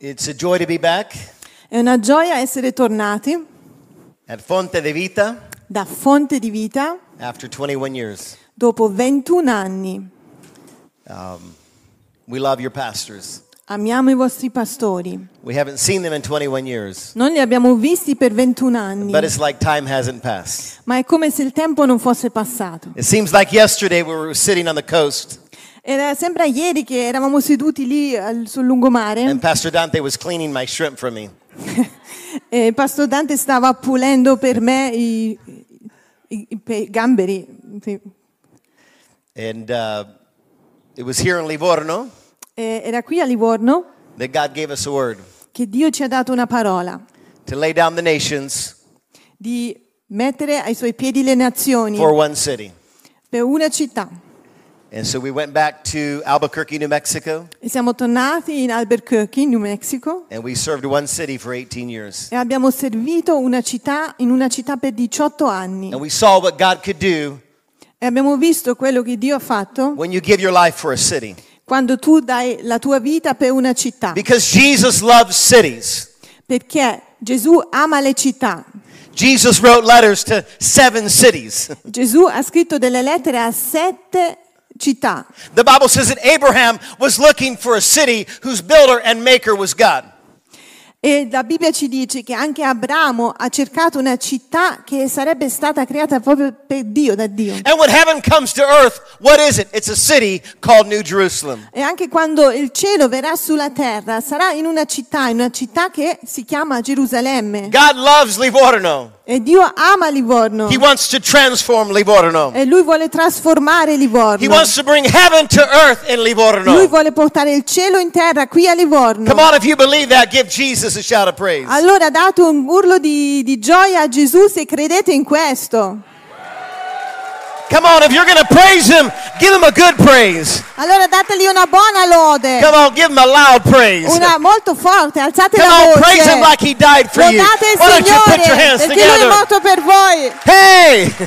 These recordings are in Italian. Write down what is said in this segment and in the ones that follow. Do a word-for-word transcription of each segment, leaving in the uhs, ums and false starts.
It's a joy to be back È una gioia essere tornati at Fonte di Vita da Fonte di Vita after twenty-one years. dopo ventuno anni. Um, we love your pastors. Amiamo i vostri pastori. We haven't seen them in twenty-one years, Non li abbiamo visti per ventuno anni, but it's like time hasn't passed. ma è come se il tempo non fosse passato. It seems like yesterday we were sitting on the coast Era sembra ieri che eravamo seduti lì al- sul lungomare and Pastor Dante was cleaning my shrimp for me. e il Pastor Dante stava pulendo per me i, i, i pe- gamberi. Sì. And uh, it was here in Livorno E era qui a Livorno that God gave us a word che Dio ci ha dato una parola to lay down the nations di mettere ai suoi piedi le nazioni for one city. per una città. And so we went back to Albuquerque, New Mexico, E siamo tornati in Albuquerque, New Mexico, and we served one city for eighteen years. e abbiamo servito una città in una città per diciotto anni. And we saw what God could do E abbiamo visto quello che Dio ha fatto when you give your life for a city. quando tu dai la tua vita per una città. Because Jesus loves cities. Perché Gesù ama le città. Jesus wrote letters to seven cities. Gesù ha scritto delle lettere a sette città. The Bible says that Abraham was looking for a city whose builder and maker was God. E la Bibbia ci dice che anche Abramo ha cercato una città che sarebbe stata creata proprio per Dio, da Dio. And when heaven comes to earth, what is it? It's a city called New Jerusalem. E anche quando il cielo verrà sulla terra, sarà in una città, in una città che si chiama Gerusalemme. God loves Livorno. E Dio ama Livorno. He wants to transform Livorno. E Lui vuole trasformare He Livorno. wants to bring heaven to earth in Lui Livorno. vuole portare il cielo in terra qui a Livorno. Come on, if you believe that, give Jesus a shout of praise. Allora date un urlo di, di gioia a Gesù se credete in questo. Come on, if you're going to praise him, give him a good praise. Allora dategli una buona lode. Come on, give him a loud praise. Una molto forte, alzate Come la on, voce. praise him like he died for you. Lodate il Why don't you put your Signore, hands perché Lui è together? morto per voi. Hey!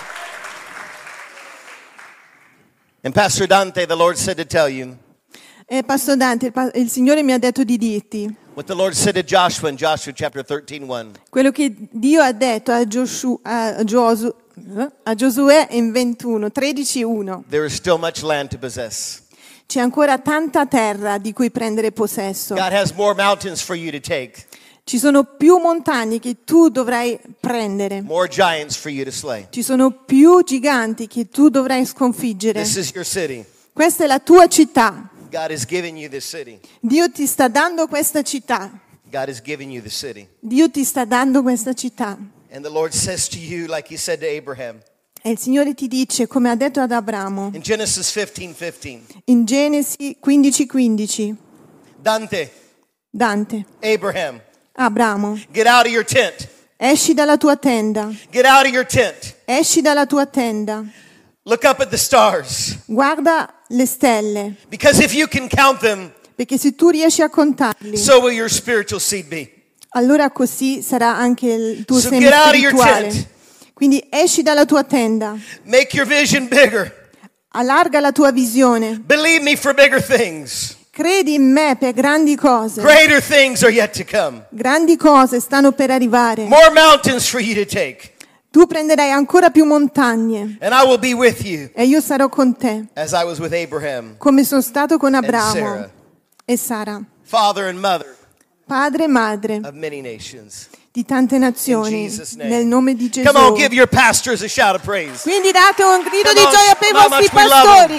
And Pastor Dante, the Lord said to tell you E Pastor Dante, il, pa- il Signore mi ha detto di dirti what the Lord said to Joshua in Joshua chapter thirteen one. quello che Dio ha detto a, Giosù, a, Giosu, a Giosuè in ventuno, tredici uno. There is still much land to possess. C'è ancora tanta terra di cui prendere possesso. God has more mountains for you to take, Ci sono più montagne che tu dovrai prendere. more giants for you to slay. Ci sono più giganti che tu dovrai sconfiggere. This is your city. Questa è la tua città. God is giving you this city. Dio ti sta dando questa città. God is giving you the city. Dio ti sta dando questa città. And the Lord says to you, like he said to Abraham, E il Signore ti dice, come ha detto ad Abramo, in Genesis fifteen fifteen, in Genesi quindici quindici, Dante, Dante, Abraham, Abramo, get out of your tent. esci dalla tua tenda, Get out of your tent. esci dalla tua tenda, Look up at the stars. guarda le stelle, Because if you can count them, perché se tu riesci a contarli, so will your spiritual seed be. allora così sarà anche il tuo So seme get out of your spirituale. tent. Quindi esci dalla tua tenda, Make your vision bigger. allarga la tua visione, Believe me for bigger things. credi in me per grandi cose. Greater things are yet to come. Grandi cose stanno per arrivare. More mountains for you to take. Tu prenderai ancora più montagne And I will be with you e io sarò con te, as I was with Abraham, come sono stato con Sarah. Abramo e Sara, father and mother padre e madre of many nations. di tante In nazioni, Jesus' name. nel nome di Gesù. Come on, give your pastors a shout of praise. Quindi date un grido Come di on, gioia per i how vostri much we love pastori.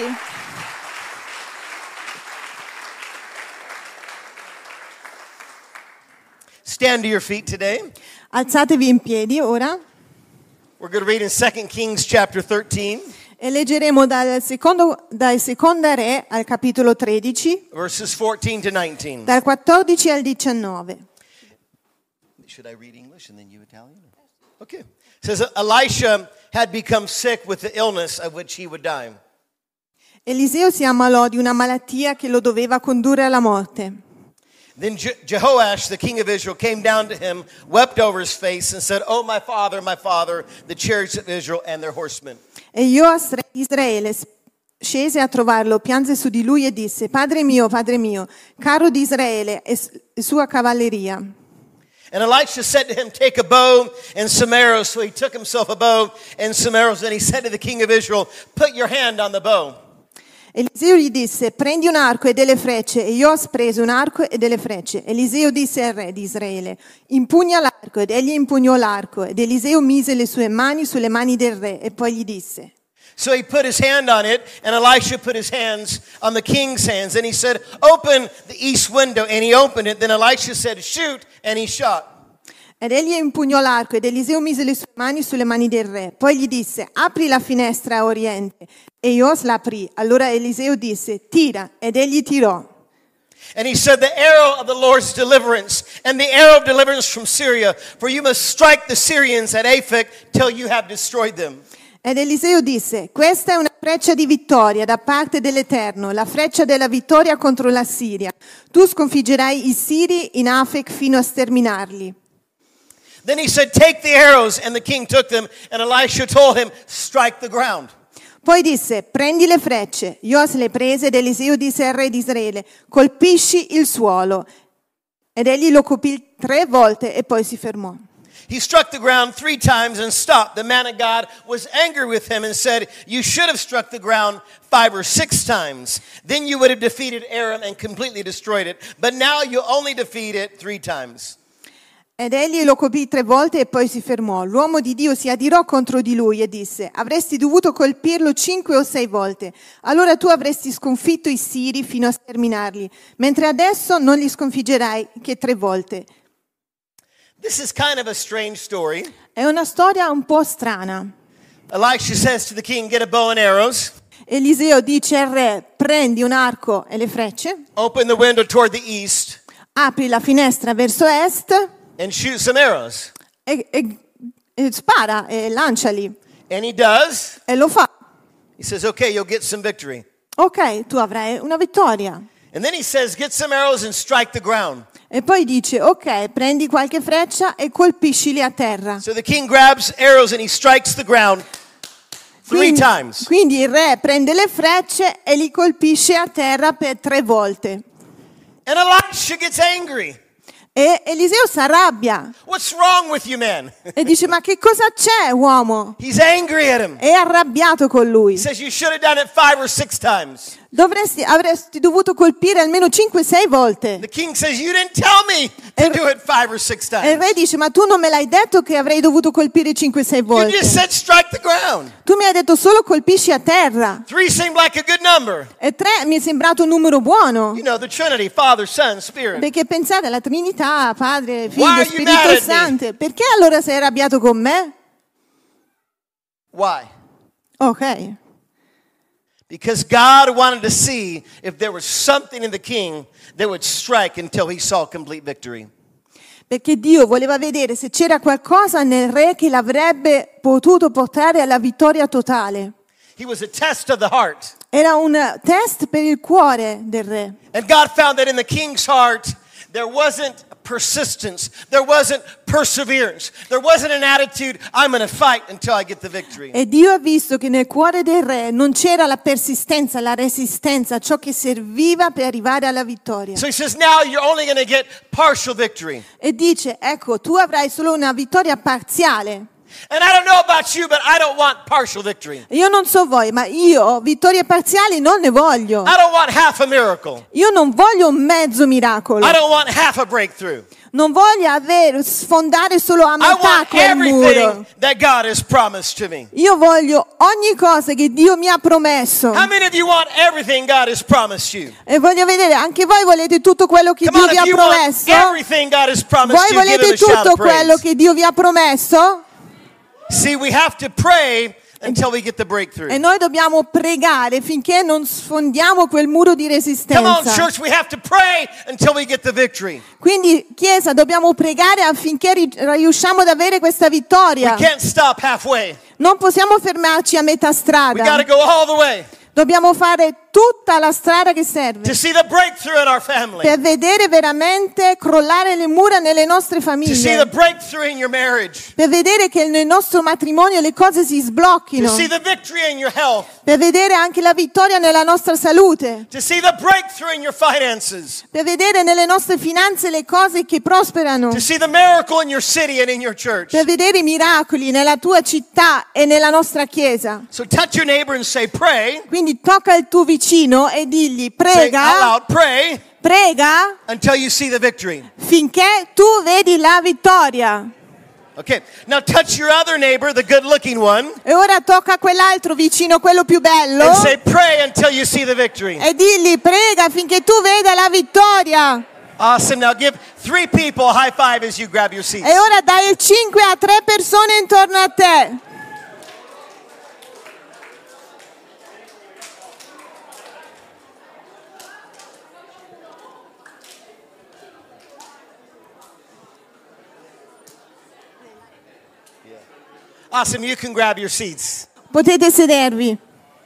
Stand to your feet today. Alzatevi in piedi ora We're going to read in Second Kings chapter thirteen, e leggeremo dal secondo, dal seconda Re al capitolo tredici, verses fourteen to nineteen. dal quattordici al diciannove. Should I read English and then you Italian? Okay. It says Elisha had become sick with the illness of which he would die. Eliseo si ammalò di una malattia che lo doveva condurre alla morte. Then Je- Jehoash, the king of Israel, came down to him, wept over his face, and said, "Oh, my father, my father, the chariots of Israel and their horsemen." E Ioas, re di Israele, scese a trovarlo, pianse su di lui e disse: Padre mio, Padre mio, carro di Israele e s- e sua cavalleria. And Elisha said to him, take a bow and some arrows. So he took himself a bow and some arrows. And he said to the king of Israel, put your hand on the bow. Eliseo gli disse: prendi un arco e delle frecce. E Ios prese un arco e delle frecce. Eliseo disse al re di Israele: impugna l'arco. Ed egli impugnò l'arco. Ed Eliseo mise le sue mani sulle mani del re e poi gli disse. So he put his hand on it, and Elisha put his hands on the king's hands. And he said, open the east window. And he opened it. Then Elisha said, shoot, and he shot. Ed egli impugnò l'arco ed Eliseo mise le sue mani sulle mani del re. Poi gli disse: apri la finestra a oriente. E Ios la aprì. Allora Eliseo disse: tira. Ed egli tirò. And he said, the arrow of the Lord's deliverance, and the arrow of deliverance from Syria, for you must strike the Syrians at Aphek till you have destroyed them. Ed Eliseo disse: questa è una freccia di vittoria da parte dell'Eterno, la freccia della vittoria contro la Siria. Tu sconfiggerai i Siri in Afek fino a sterminarli. Then he said, take the arrows, and the king took them, and Elisha told him, strike the ground. Poi disse: prendi le frecce. Ios le prese ed Eliseo disse al re di Israele: colpisci il suolo. Ed egli lo colpì tre volte e poi si fermò. He struck the ground three times and stopped. The man of God was angry with him and said, you should have struck the ground five or six times. Then you would have defeated Aram and completely destroyed it. But now you only defeat it three times. Ed egli lo colpì tre volte e poi si fermò. L'uomo di Dio si adirò contro di lui e disse: avresti dovuto colpirlo cinque o sei volte. Allora tu avresti sconfitto i Siri fino a sterminarli, mentre adesso non li sconfiggerai che tre volte. This is kind of a strange story. È una storia un po' strana. Elisha says to the king, get a bow and arrows. Eliseo dice al re: prendi un arco e le frecce, Open the window toward the east apri la finestra verso est and shoot some arrows. e, e, e spara e lanciali. And he does. E lo fa. He says, okay, you'll get some victory. Ok, tu avrai una vittoria. And then he says, get some arrows and strike the ground. E poi dice: ok, prendi qualche freccia e colpiscili a terra. So the king grabs arrows and he strikes the ground three Quindi, times. quindi il re prende le frecce e li colpisce a terra per tre volte. And Elisha gets angry. E Eliseo si arrabbia What's wrong with you, man? e dice: ma che cosa c'è, uomo? He's angry at him. È arrabbiato con lui. He says, you should have done it five or six times. Dovresti, avresti dovuto colpire almeno cinque sei volte. The king says, you didn't tell me to do it five or six E il times. re dice: ma tu non me l'hai detto che avrei dovuto colpire cinque sei You volte. just said strike the ground. Tu mi hai detto solo colpisci a terra. Three seemed like a good number. E tre mi è sembrato un numero buono. You know, the Trinity, Father, Son, Spirit. Perché pensate alla Trinità, Padre, Why Figlio, are you Spirito mad at me? Santo. Perché allora sei arrabbiato con me? Why? Ok. Because God wanted to see if there was something in the king that would strike until he saw complete victory. Perché Dio voleva vedere se c'era qualcosa nel re che l'avrebbe potuto portare alla vittoria totale. He was a test of the heart. Era un test per il cuore del re. And God found that in the king's heart, there wasn't persistence. There wasn't perseverance. There wasn't an attitude, I'm going to fight until I get the victory. E Dio ha visto che nel cuore del re non c'era la persistenza, la resistenza, ciò che serviva per arrivare alla vittoria. So he says, now you're only going to get partial victory. E dice: ecco, tu avrai solo una vittoria parziale. And I don't know about you, but I don't want partial victory. Io non so voi, ma io vittorie parziali non ne voglio. I don't want half a miracle. Io non voglio un mezzo miracolo. I don't want half a breakthrough. Non voglio avere, sfondare solo a I metà want quel muro. everything that God has promised to me. Io voglio ogni cosa che Dio mi ha promesso. How many of you want everything God has promised you? E voglio vedere, anche voi volete tutto quello che Come Dio on, vi if ha you want promesso? everything God has promised Voi you, give him volete a shout tutto of quello praise. che Dio vi ha promesso? See, we have to pray until we get the breakthrough. E noi dobbiamo pregare finché non sfondiamo quel muro di Come on, resistenza. church, we have to pray until we get the victory. Quindi, Chiesa, dobbiamo pregare affinché ri- riusciamo ad avere questa We vittoria. can't stop halfway. Non possiamo fermarci a metà We got to strada. go all the way. Dobbiamo fare tutta la strada che serve to see the breakthrough in our family, per vedere veramente crollare le mura nelle nostre to see the famiglie, breakthrough in your marriage, per vedere che nel nostro matrimonio le cose si to sblocchino, see the victory in your health, per vedere anche la vittoria nella nostra salute, to see the breakthrough in your finances, per vedere nelle nostre finanze le cose che prosperano, to see the miracle in your city and in your church. per vedere i miracoli nella tua città e nella nostra chiesa. So touch your neighbor and say, pray. Quindi tocca il tuo vicino e digli Say out prega, loud, pray prega until you see the victory. finché tu vedi la vittoria. Okay, now touch your other neighbor, the good-looking one, E ora tocca a quell'altro vicino, quello più bello, and say, pray until you see the victory. e digli prega finché tu veda la vittoria. Awesome. Now give three people a high five as you grab your seats. E ora dai il cinque a tre persone intorno a te. Awesome. You can grab your seats. Potete sedervi.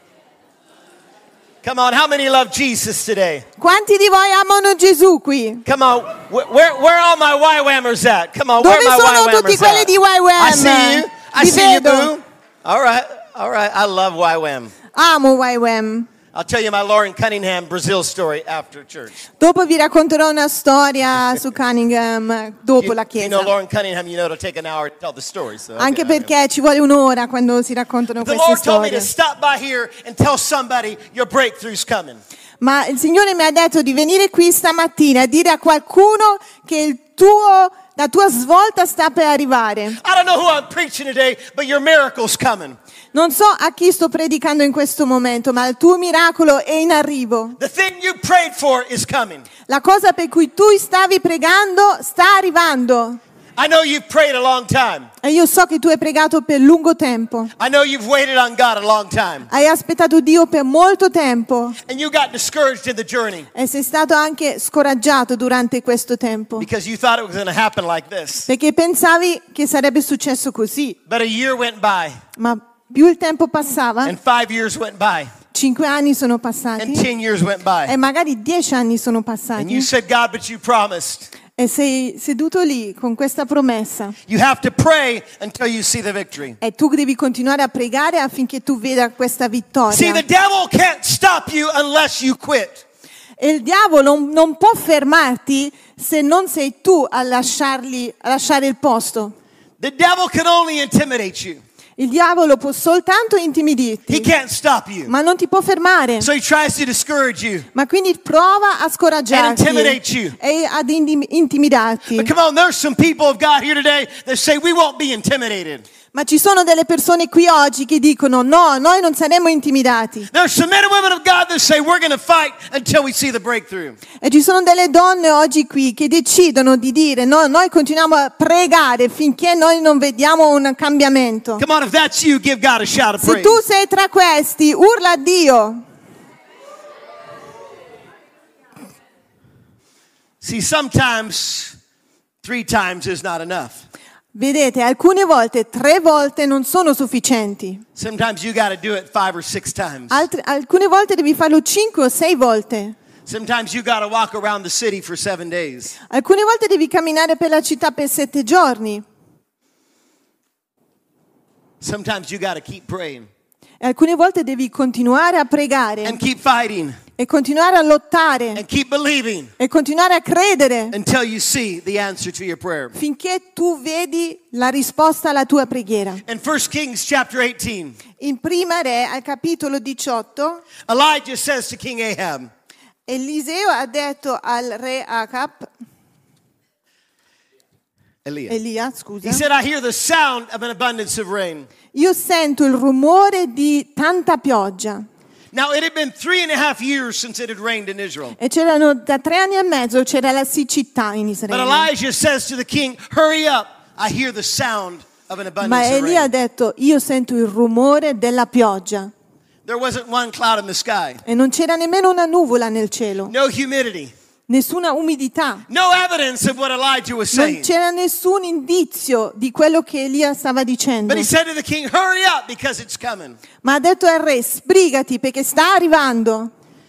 Come on. How many love Jesus today? Quanti di voi amano Gesù qui? Come on. Where, where, where are all my Y-Whammers at? Come on. Dove where are my sono tutti Y-Whammers quelli at? di Y W A M? I see you. I Vi see you, vedo. boo. All right. All right. I love Y-Wham. Amo Y W A M. I'll tell you my Lauren Cunningham Brazil story after church. Dopo vi racconterò una storia su Cunningham dopo You, la you chiesa. know Lauren Cunningham, you know it'll take an hour to tell the story. So, okay, Anche okay. perché ci vuole un'ora quando si raccontano The queste Lord told me to storie. stop by here and tell somebody your breakthrough's coming. Ma il Signore mi ha detto di venire qui stamattina e dire a qualcuno che il tuo, la tua svolta sta per arrivare. I don't know who I'm preaching today, but your miracle's coming. Non so a chi sto predicando in questo momento, ma il tuo miracolo è in arrivo. The thing you prayed for is coming. La cosa per cui tu stavi pregando sta arrivando. I know you've prayed a long time. E io so che tu hai pregato per lungo tempo. I know you've waited on God a long time. Hai aspettato Dio per molto tempo. And you got discouraged in the journey E sei stato anche scoraggiato durante questo tempo. because you thought it was going to happen like this. Perché pensavi che sarebbe successo così. But a year went by, Ma più il tempo passava, and five years went by, cinque anni sono and passati. ten years went by. E magari dieci anni sono And you passati. said, God, but you promised. E sei seduto lì con questa promessa. You have to pray until you see the victory. E tu devi continuare a pregare affinché tu veda questa See, vittoria. the devil can't stop you unless you quit. E il diavolo non, non può fermarti se non sei tu a, lasciarli, a lasciare il posto. The devil can only intimidate you. Il diavolo può soltanto He intimidirti, can't stop you. ma non ti può fermare. So he tries to discourage you. Ma quindi prova a And scoraggiarti intimidate you. e ad indi- intimidarti. But come on, there's some people of God here today that say we won't be intimidated. Ma ci sono delle persone qui oggi che dicono no, noi non saremo intimidati. There's some men and women of God that say we're going to fight until we see the breakthrough. E ci sono delle donne oggi qui che decidono di dire no, noi continuiamo a pregare finché noi non vediamo un cambiamento. Come on, if that's you, give God a shout of Se praise. tu sei tra questi, urla a Dio. See, sometimes three times is not enough. Vedete, alcune volte tre volte non sono sufficienti. Sometimes you got to do it five or six times. Altre, alcune volte devi farlo cinque o sei volte. Sometimes you got to walk around the city for seven days. Alcune volte devi camminare per la città per sette giorni. Sometimes you got to keep praying E alcune volte devi continuare a pregare and keep fighting e continuare a lottare and keep believing e continuare a credere until you see the answer to your prayer. finché tu vedi la risposta alla tua preghiera. In First Kings chapter eighteen, In Prima Re, al capitolo diciotto, Elijah says to King Ahab, Eliseo ha detto al re Acab, Elia, Elia, scusa, he said, I hear the sound of an abundance of rain. io sento il rumore di tanta pioggia. Now, it had been three and a half years since it had rained in Israel. E c'erano da tre anni e mezzo c'era la siccità in But Israele. Elijah says to the king, hurry up, I hear the sound of an Ma abundance of Elia ha rain. detto, io sento il rumore della pioggia. There wasn't one cloud in the sky, E non c'era nemmeno una nuvola nel cielo, no humidity, nessuna umidità. no evidence of what Elijah was Non saying. c'era nessun indizio di quello che Elia stava dicendo. But he said to the king, hurry up because it's coming. Ma ha detto al re, sbrigati perché sta arrivando.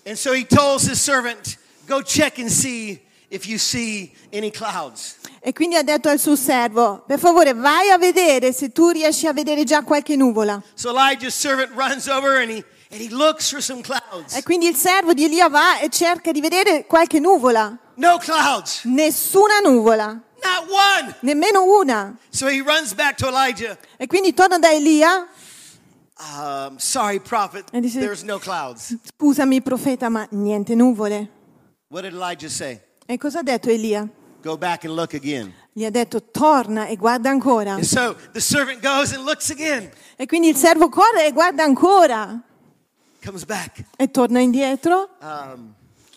And so he tells his servant, go check and see if you see any clouds. E quindi ha detto al suo servo, per favore vai a vedere se tu riesci a vedere già qualche nuvola. So Elijah's servant runs over and he, and he looks for some clouds. E quindi il servo di Elia va e cerca di vedere qualche nuvola. No clouds. Nessuna nuvola, Not one. nemmeno una. So he runs back to Elijah. E quindi torna da Elia. Um, sorry, prophet, E dice, there's no clouds. scusami profeta, ma niente nuvole. What did Elijah say? E cosa ha detto Elia? Go back and look again. Gli ha detto torna e guarda ancora. And so the servant goes and looks again. E quindi il servo corre e guarda ancora. Comes back. E torna indietro. Um,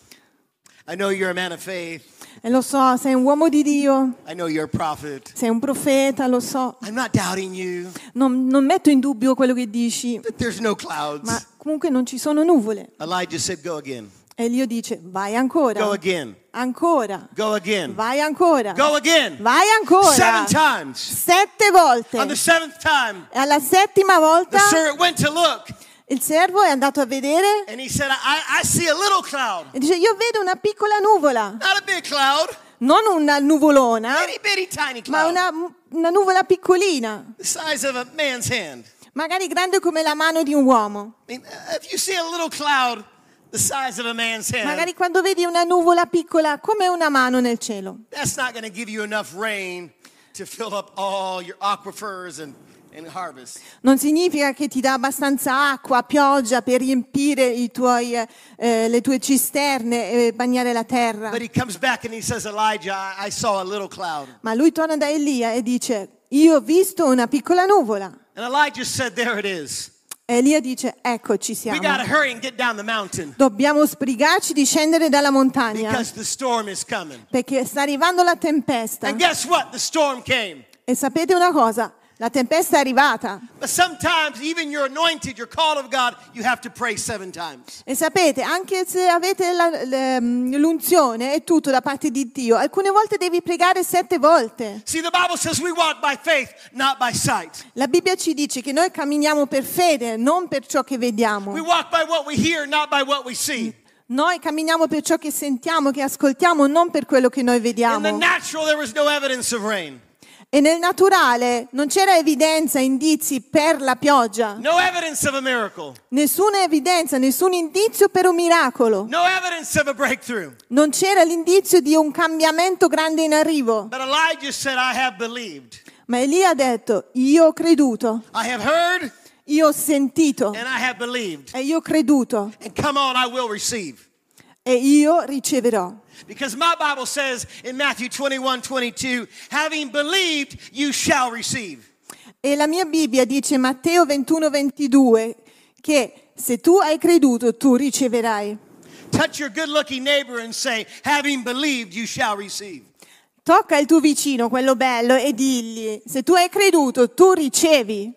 I know you're a man of faith. E lo so, sei un uomo di Dio, I know you're a prophet. sei un profeta, lo so. I'm not doubting you, Non, non metto in dubbio quello che dici, but there's no clouds. ma comunque non ci sono nuvole. Elijah said, go again. E Dio dice, vai ancora, Go again. ancora, Go again. vai ancora, Go again. vai ancora. Seven times. Sette volte. On the seventh time, E alla settima volta the servant went to look, il servo è andato a vedere and he said, I, I see a little cloud. e dice, io vedo una piccola nuvola, Not a big cloud, non una nuvolona, itty bitty tiny ma cloud. una, una nuvola piccolina, The size of a man's hand. magari grande come la mano di un uomo. I mean, if you see a little cloud the size of a man's hand, Magari quando vedi una nuvola piccola come una mano nel cielo. that's not going to give you enough rain to fill up all your aquifers and, and harvest. Non significa che ti dà abbastanza acqua, pioggia per riempire i tuoi, eh, le tue cisterne e bagnare la terra. But he comes back and he says, Elijah, I, I saw a little cloud. Ma lui torna da Elia e dice, io ho visto una piccola nuvola. And Elijah said, there it is. E Elia dice, eccoci We siamo. got to hurry and get down the mountain Dobbiamo sbrigarci di scendere dalla montagna because the storm is coming. perché sta arrivando la tempesta. And guess what? The storm came. E sapete una cosa? La tempesta è arrivata. But sometimes even you're anointed, you're called of God, you have to pray seven times. E sapete, anche se avete la- le- l'unzione e tutto da parte di Dio, alcune volte devi pregare sette volte. See, the Bible says we walk by faith, not by sight. La Bibbia ci dice che noi camminiamo per fede, non per ciò che vediamo. We walk by what we hear, not by what we see. Noi camminiamo per ciò che sentiamo, che ascoltiamo, non per quello che noi In the vediamo. natural, there was no evidence of rain. E nel naturale non c'era evidenza, indizi per la pioggia. No evidence of a miracle. Nessuna evidenza, nessun indizio per un miracolo. No evidence of a breakthrough. Non c'era l'indizio di un cambiamento grande in arrivo. But Elijah said, I have believed. Ma Elia ha detto, io ho creduto, I have heard io ho sentito and I have believed. e io ho creduto And come on, I will receive. e io riceverò. Because my Bible says in Matthew twenty-one twenty-two, having believed, you shall receive. E la mia Bibbia dice Matteo ventuno ventidue che se tu hai creduto tu riceverai. Touch your good-looking neighbor and say, having believed, you shall receive. Tocca il tuo vicino, quello bello, e digli, se tu hai creduto tu ricevi.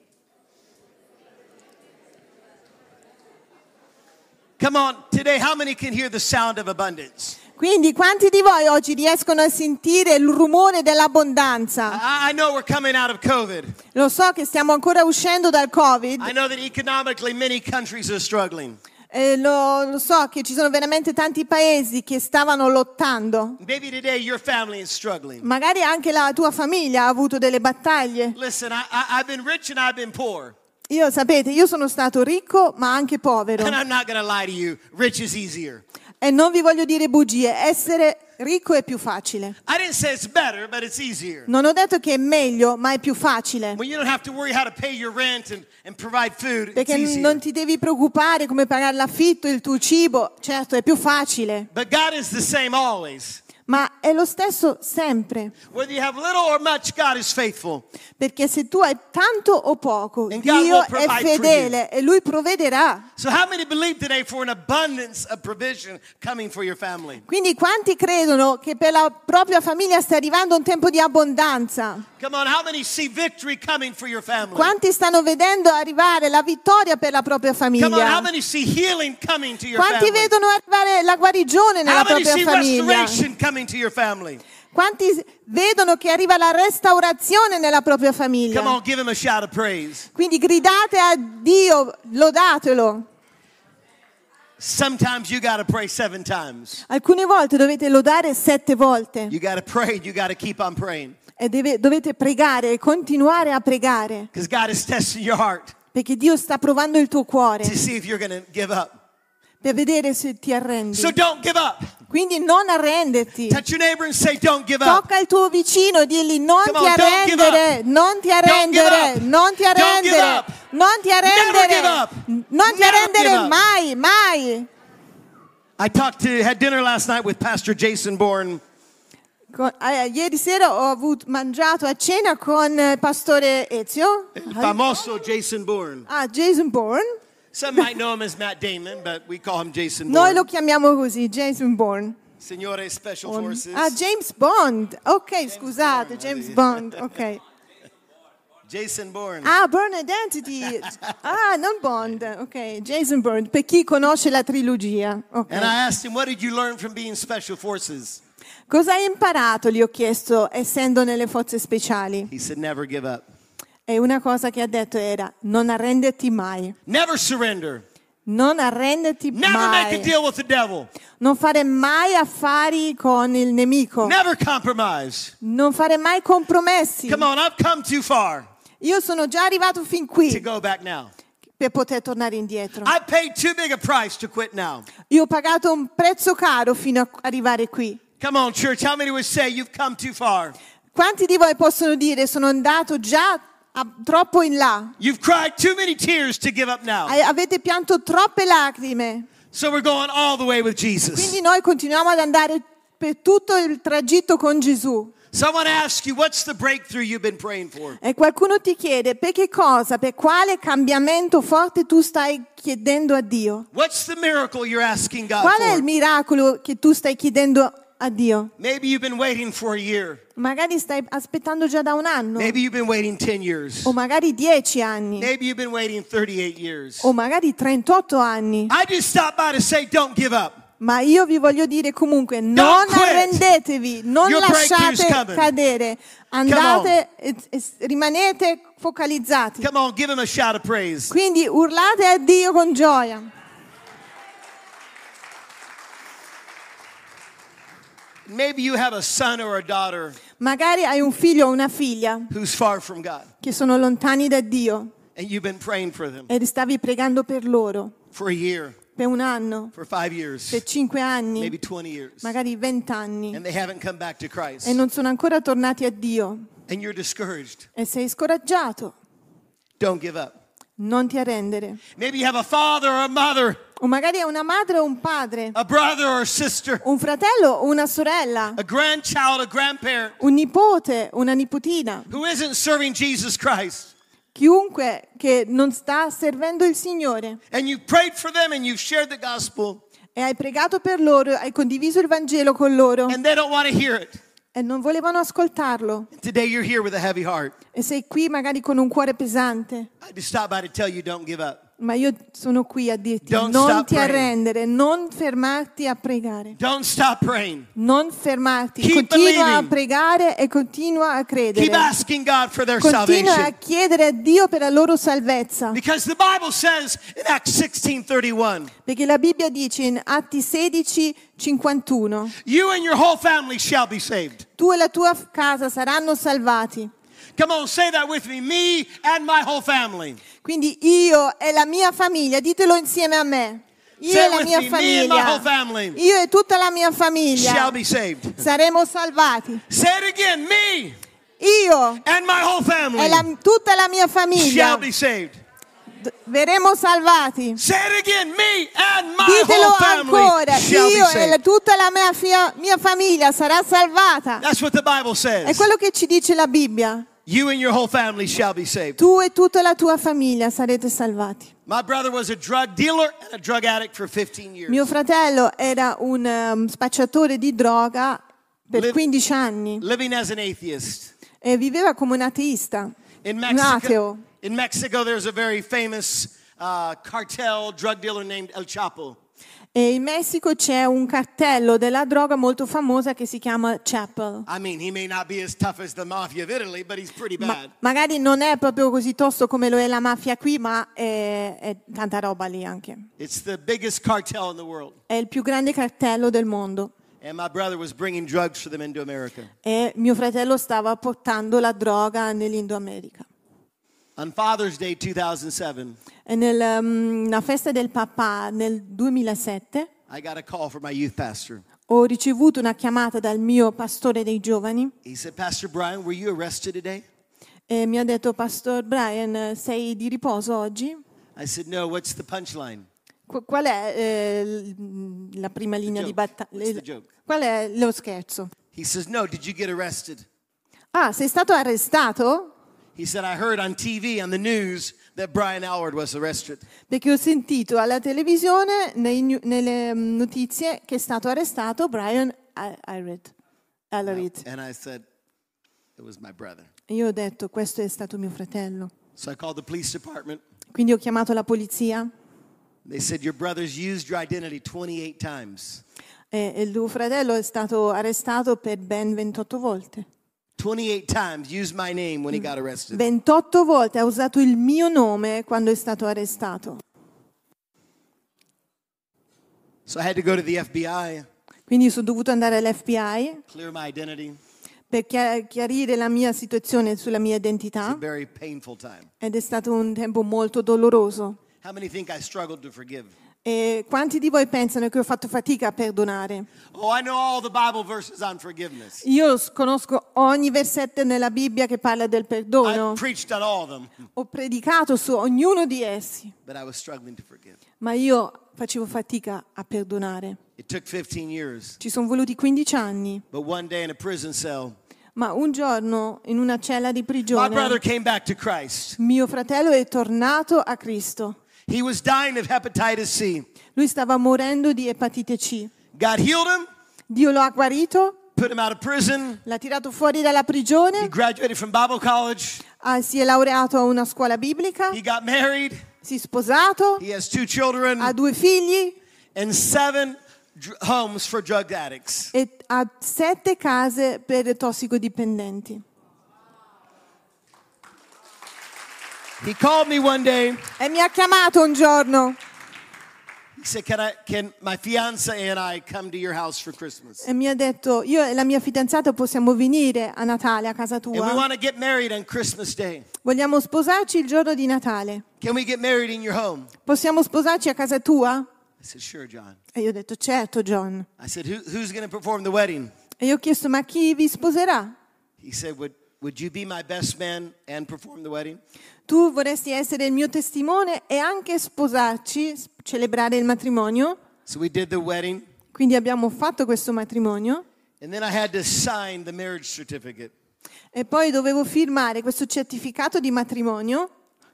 Come on, today, how many can hear the sound of abundance? Quindi quanti di voi oggi riescono a sentire il rumore dell'abbondanza? I, I know we're coming out of COVID. Lo so che stiamo ancora uscendo dal Covid, I know that economically many countries are struggling. eh, lo, lo so che ci sono veramente tanti paesi che stavano lottando. Maybe today your family is struggling. Magari anche la tua famiglia ha avuto delle battaglie. Listen, I, I, I've been rich and I've been poor. Io, sapete, io sono stato ricco ma anche povero. And I'm not going to lie to you, rich is easier. E non vi voglio dire bugie, essere ricco è più facile. I didn't say it's better, but it's easier. Non ho detto che è meglio, ma è più facile. When you don't have to worry how to pay your rent and, and provide food, it's Perché easier. non ti devi preoccupare come pagare l'affitto, il tuo cibo. Certo, è più facile, But God is the same always. ma è lo stesso sempre. Whether you have little or much, God is faithful. Perché se tu hai tanto o poco, And God Dio will è provide for fedele e Lui provvederà. So how many believe today for an abundance of provision coming for your family? Quindi quanti credono che per la propria famiglia sta arrivando un tempo di abbondanza? Come on, how many see victory coming for your family? Quanti stanno vedendo arrivare la vittoria per la propria Come on, how famiglia? many see healing coming to your Quanti family? vedono arrivare la guarigione nella How many propria see famiglia? restoration coming to your family? Quanti vedono che arriva la restaurazione nella propria Come famiglia? on, give him a shout of praise. Quindi gridate a Dio, lodatelo. Sometimes you got to pray seven times. Alcune volte dovete lodare sette volte. You got to pray. You got to keep on praying. E deve, dovete pregare e continuare a pregare. Because God is testing your heart Perché Dio sta provando il tuo cuore to see if you're going to give up. per vedere se ti arrendi. So don't give up. Quindi non arrenderti. Touch your neighbor and say, don't give up. Tocca il tuo vicino e digli non Come ti on, don't give arrendere, up. non ti Don't give arrendere, up. non ti Don't give arrendere, up. non ti Never arrendere, give up. non ti Never arrendere give up. mai, mai. I talked to, had dinner last night with Pastor Jason Bourne. Con- eh, ieri sera ho avuto, mangiato a cena con il pastore Ezio, El famoso Jason Bourne. ah, Jason Bourne. Some might know him as Matt Damon, but we call him Jason Noi lo Bourne. chiamiamo così, Jason Bourne. Signore Special On- Forces. Ah, James Bond. Ok, scusate, James Bond. Ok. Jason Bourne. Ah, Bourne Identity. Ah, non Bond. Ok, Jason Bourne. Per chi conosce la trilogia. Ok. And I asked him, what did you learn from being Special Forces? Cosa hai imparato? Gli ho chiesto, essendo nelle forze speciali. He said, never give up. E una cosa che ha detto era, non arrenderti mai. Never surrender. Non arrenderti Never make a mai. deal with the devil. Non fare mai affari con il nemico. Never compromise. Non fare mai compromessi. Come on, I've come too far Io sono già arrivato fin to qui go back now. per poter tornare indietro. I paid too big a price to quit now. Io ho pagato un prezzo caro fino a arrivare qui. Come on, church, how many would say you've come too far? Quanti di voi possono dire sono andato già a- troppo in là? You've cried too many tears to give up now. A- Avete pianto troppe lacrime. So we're going all the way with Jesus. Quindi noi continuiamo ad andare per tutto il tragitto con Gesù. So I want to ask you, what's the breakthrough you've been praying for? E qualcuno ti chiede per che cosa, per quale cambiamento forte tu stai chiedendo a Dio? What's the miracle you're asking God Qual è il for? miracolo che tu stai chiedendo a Dio? Maybe you've been waiting for a year. Magari stai aspettando già da un anno, Maybe you've been waiting ten years. o magari dieci anni, Maybe you've been waiting thirty-eight years. o magari trentotto anni. I just stopped by to say, don't give up. Ma io vi voglio dire comunque, non quit. arrendetevi, non Your breakthrough's lasciate coming. cadere, andate e, e rimanete focalizzati. Come on, give him a shout of praise. Quindi urlate a Dio con gioia. Maybe you have a son or a daughter Magari hai un figlio o una figlia who's far from God, che sono lontani da Dio and you've been praying for them e stavi pregando per loro for a year, per un anno, for five years, per cinque anni, maybe twenty years, magari vent'anni, and they haven't come back to Christ, e non sono ancora tornati a Dio and you're discouraged. e sei scoraggiato. Don't give up. Non ti arrendere. Maybe you have a father or a mother, O magari è una madre o un padre, a brother or a sister, un fratello o una sorella, a grandchild, a grandparent un nipote, una nipotina, who isn't serving Jesus Christ. chiunque che non sta servendo il Signore. And you prayed for them and you've shared the gospel E hai pregato per loro, hai condiviso il Vangelo con loro and they don't want to hear it. e non volevano ascoltarlo. Today you're here with a heavy heart. E sei qui magari con un cuore pesante. I just stopped by to tell you don't give up. Ma io sono qui a dirti, Don't non stop ti praying. arrendere, non fermarti a pregare. Don't stop praying. Non fermarti, Keep continua a believing. pregare e continua a credere. Keep asking God for their Continua a salvation. chiedere a Dio per la loro salvezza. Because the Bible says in Acts sixteen thirty-one, Perché la Bibbia dice in Atti sedici cinquantuno, you and your whole family shall be saved. tu e la tua casa saranno salvati. Come on, say that with me. Me and my whole family. Quindi io e la mia famiglia, ditelo insieme a me. Io Say e it la with mia me. Me and my whole famiglia, family io e tutta la mia shall famiglia be saved. saremo salvati. Say it again. Me Io and my whole family e la, tutta la mia famiglia shall be saved. d- verremo salvati. Say it again. Me and my Ditelo whole family ancora, shall be io e la- saved. tutta la mia, fia- mia famiglia sarà salvata. That's what the Bible È says. quello che ci dice la Bibbia. You and your whole family shall be saved. Tu e tutta la tua famiglia sarete salvati. My brother was a drug dealer and a drug addict for fifteen years. Mio fratello era un um, spacciatore di droga per Liv- quindici anni Living as an atheist. e viveva come un ateista. In Un Mexico, ateo. in Mexico there's a very famous uh, cartel drug dealer named El Chapo. E in Messico c'è un cartello della droga molto famosa che si chiama Chapel. I mean, he may not be as tough as the mafia of Italy, but he's pretty Ma- bad. magari non è proprio così tosto come lo è la mafia qui, ma è, è tanta roba lì anche. It's the biggest cartel in the world. È il più grande cartello del mondo. And my brother was bringing drugs for them into America. E mio fratello stava portando la droga nell'Indo America. On Father's Day two thousand seven, E nella um, festa del papà nel duemilasette I got a call from my youth pastor. ho ricevuto una chiamata dal mio pastore dei giovani He said, Pastor Brian, were you arrested today? e mi ha detto: Pastor Brian, sei di riposo oggi? I said, no, what's the punchline? Qu- Qual è eh, l- la prima linea di joke. What's battaglia? the joke? Qual è lo scherzo? He says, no, did you get arrested? Ah, sei stato arrestato? He said, I heard on T V, on the news, that Brian Allard was arrested. Perché ho sentito alla televisione, nei nu- nelle mm, notizie, che è stato arrestato Brian Allard. Allard. And I said, it was my brother. E io ho detto: questo è stato mio fratello. So I called the police department. Quindi ho chiamato la polizia They said, your brother's used your identity twenty-eight times. e e il tuo fratello è stato arrestato per ben ventotto volte. twenty-eight times used my name when he got arrested. ventotto volte ha usato il mio nome quando è stato arrestato. So I had to go to the F B I, Quindi sono dovuto andare all'F B I clear my identity. per chia- chiarire la mia situazione sulla mia It's a identità very painful time. ed è stato un tempo molto doloroso. How many think I struggled to forgive? E quanti di voi pensano che ho fatto fatica a perdonare? Oh, I know all the Bible verses on forgiveness. Io s- conosco ogni versetto nella Bibbia che parla del perdono. I preached on all of them, Ho predicato su ognuno di essi, but I was struggling to forgive. ma io facevo fatica a perdonare. It took fifteen years, Ci sono voluti quindici anni, but one day in a prison cell, ma un giorno in una cella di my brother prigione came back to Christ. mio fratello è tornato a Cristo. He was dying of hepatitis C. Lui stava morendo di epatite C. God healed him, Dio lo ha guarito, put him out of prison. l'ha tirato fuori dalla He prigione, graduated from Bible college. ah, si è laureato a una scuola biblica, He got married. si è sposato, He has two children ha due figli and seven dr- homes for drug addicts. e ha sette case per tossicodipendenti. He called me one day. E mi ha chiamato un giorno He said, "Can I? Can my fiance and I come to your house for Christmas? e mi ha detto: io e la mia fidanzata possiamo venire a Natale a casa And we tua? want to get married on Christmas Day. Vogliamo sposarci il giorno di Natale? Can we get married in your home?" Possiamo sposarci a casa tua? I said, "Sure, John." E io ho detto: certo, John. I said, Who, "Who's going to perform the wedding?" E io ho chiesto: ma chi vi sposerà? He said, "Would Would you be my best man and perform the wedding?" Tu vorresti essere il mio testimone e anche sposarci, s- celebrare il matrimonio? So we did the wedding, Quindi abbiamo fatto questo matrimonio and then I had to sign the marriage certificate. e poi dovevo firmare questo certificato di matrimonio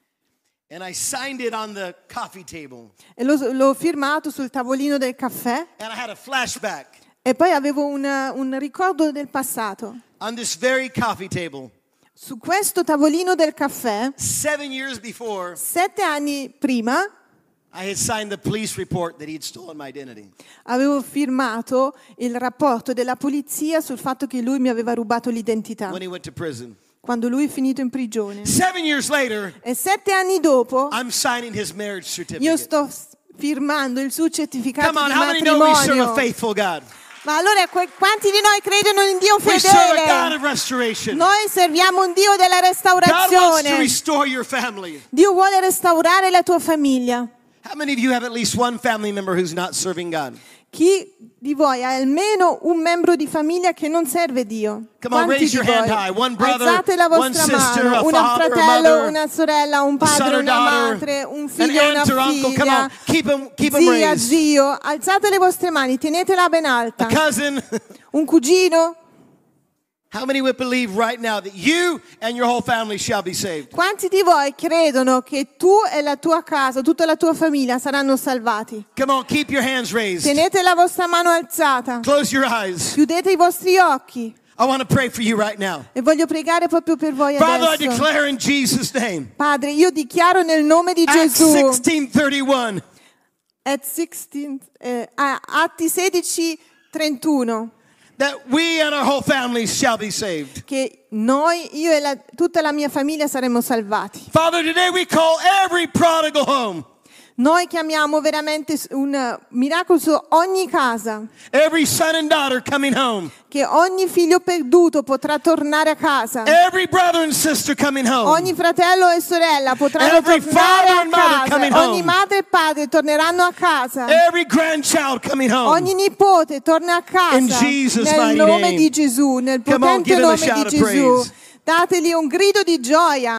And I signed it on the coffee table. e l'ho, l'ho firmato sul tavolino del caffè And I had a flashback. e poi avevo una- un ricordo del passato. On this very coffee table, Su questo tavolino del caffè, seven years before, sette anni prima, I had signed the police report that he had stolen my identity. avevo firmato il rapporto della polizia sul fatto che lui mi aveva rubato l'identità, When he went to prison. quando lui è finito in prigione. Seven years later, E sette anni dopo, I'm signing his marriage io certificate. sto s- firmando il suo certificato Come on, di how many know we serve a matrimonio. faithful God? Ma allora que- quanti di noi credono in Dio We serve a God fedele? of restoration. Noi serviamo un Dio della God wants to restaurazione. restore your family. Dio vuole restaurare la tua famiglia. How many of you have at least one family member who's not serving God? Chi di voi ha almeno un membro di famiglia che non serve Dio? Come on, Quanti raise di your hand voi? high. One brother, Alzate la one vostra sister, mano. a Un father, a fratello, mother, una sorella, un a son padre, or una daughter, madre, un an figlio e aunt or una uncle. Come figlia. on, keep them, keep them Zia, raised. zio, alzate le vostre mani, tenetela ben alta. A cousin. Un cugino? How many would believe right now that you and your whole family shall be saved? Quanti di voi credono che tu e la tua casa, tutta la tua famiglia saranno salvati? Come on, keep your hands raised. Tenete la vostra mano alzata. Close your eyes. Chiudete i vostri occhi. I want to pray for you right now. E voglio pregare proprio per voi Father, I adesso. declare in Jesus' name. Padre, io dichiaro nel nome di Acts Gesù. sixteen thirty-one. At sixteen, eh, ah, Atti sedici trentuno, that we and our whole families shall be saved. che noi, io e la- tutta la mia famiglia saremo salvati. Father, today we call every prodigal home, Noi chiamiamo veramente un miracolo su ogni casa, every son and daughter coming home, che ogni figlio perduto potrà tornare a casa. every brother and sister coming home, Ogni fratello e sorella potranno Every tornare father a and mother coming casa. Ogni home. madre e padre torneranno a casa. every grandchild coming home. Ogni nipote torna a casa. In Jesus' nel mighty nome name. di Gesù, nel Come on, potente give him a nome shout di of Gesù. praise. Dategli un grido di gioia.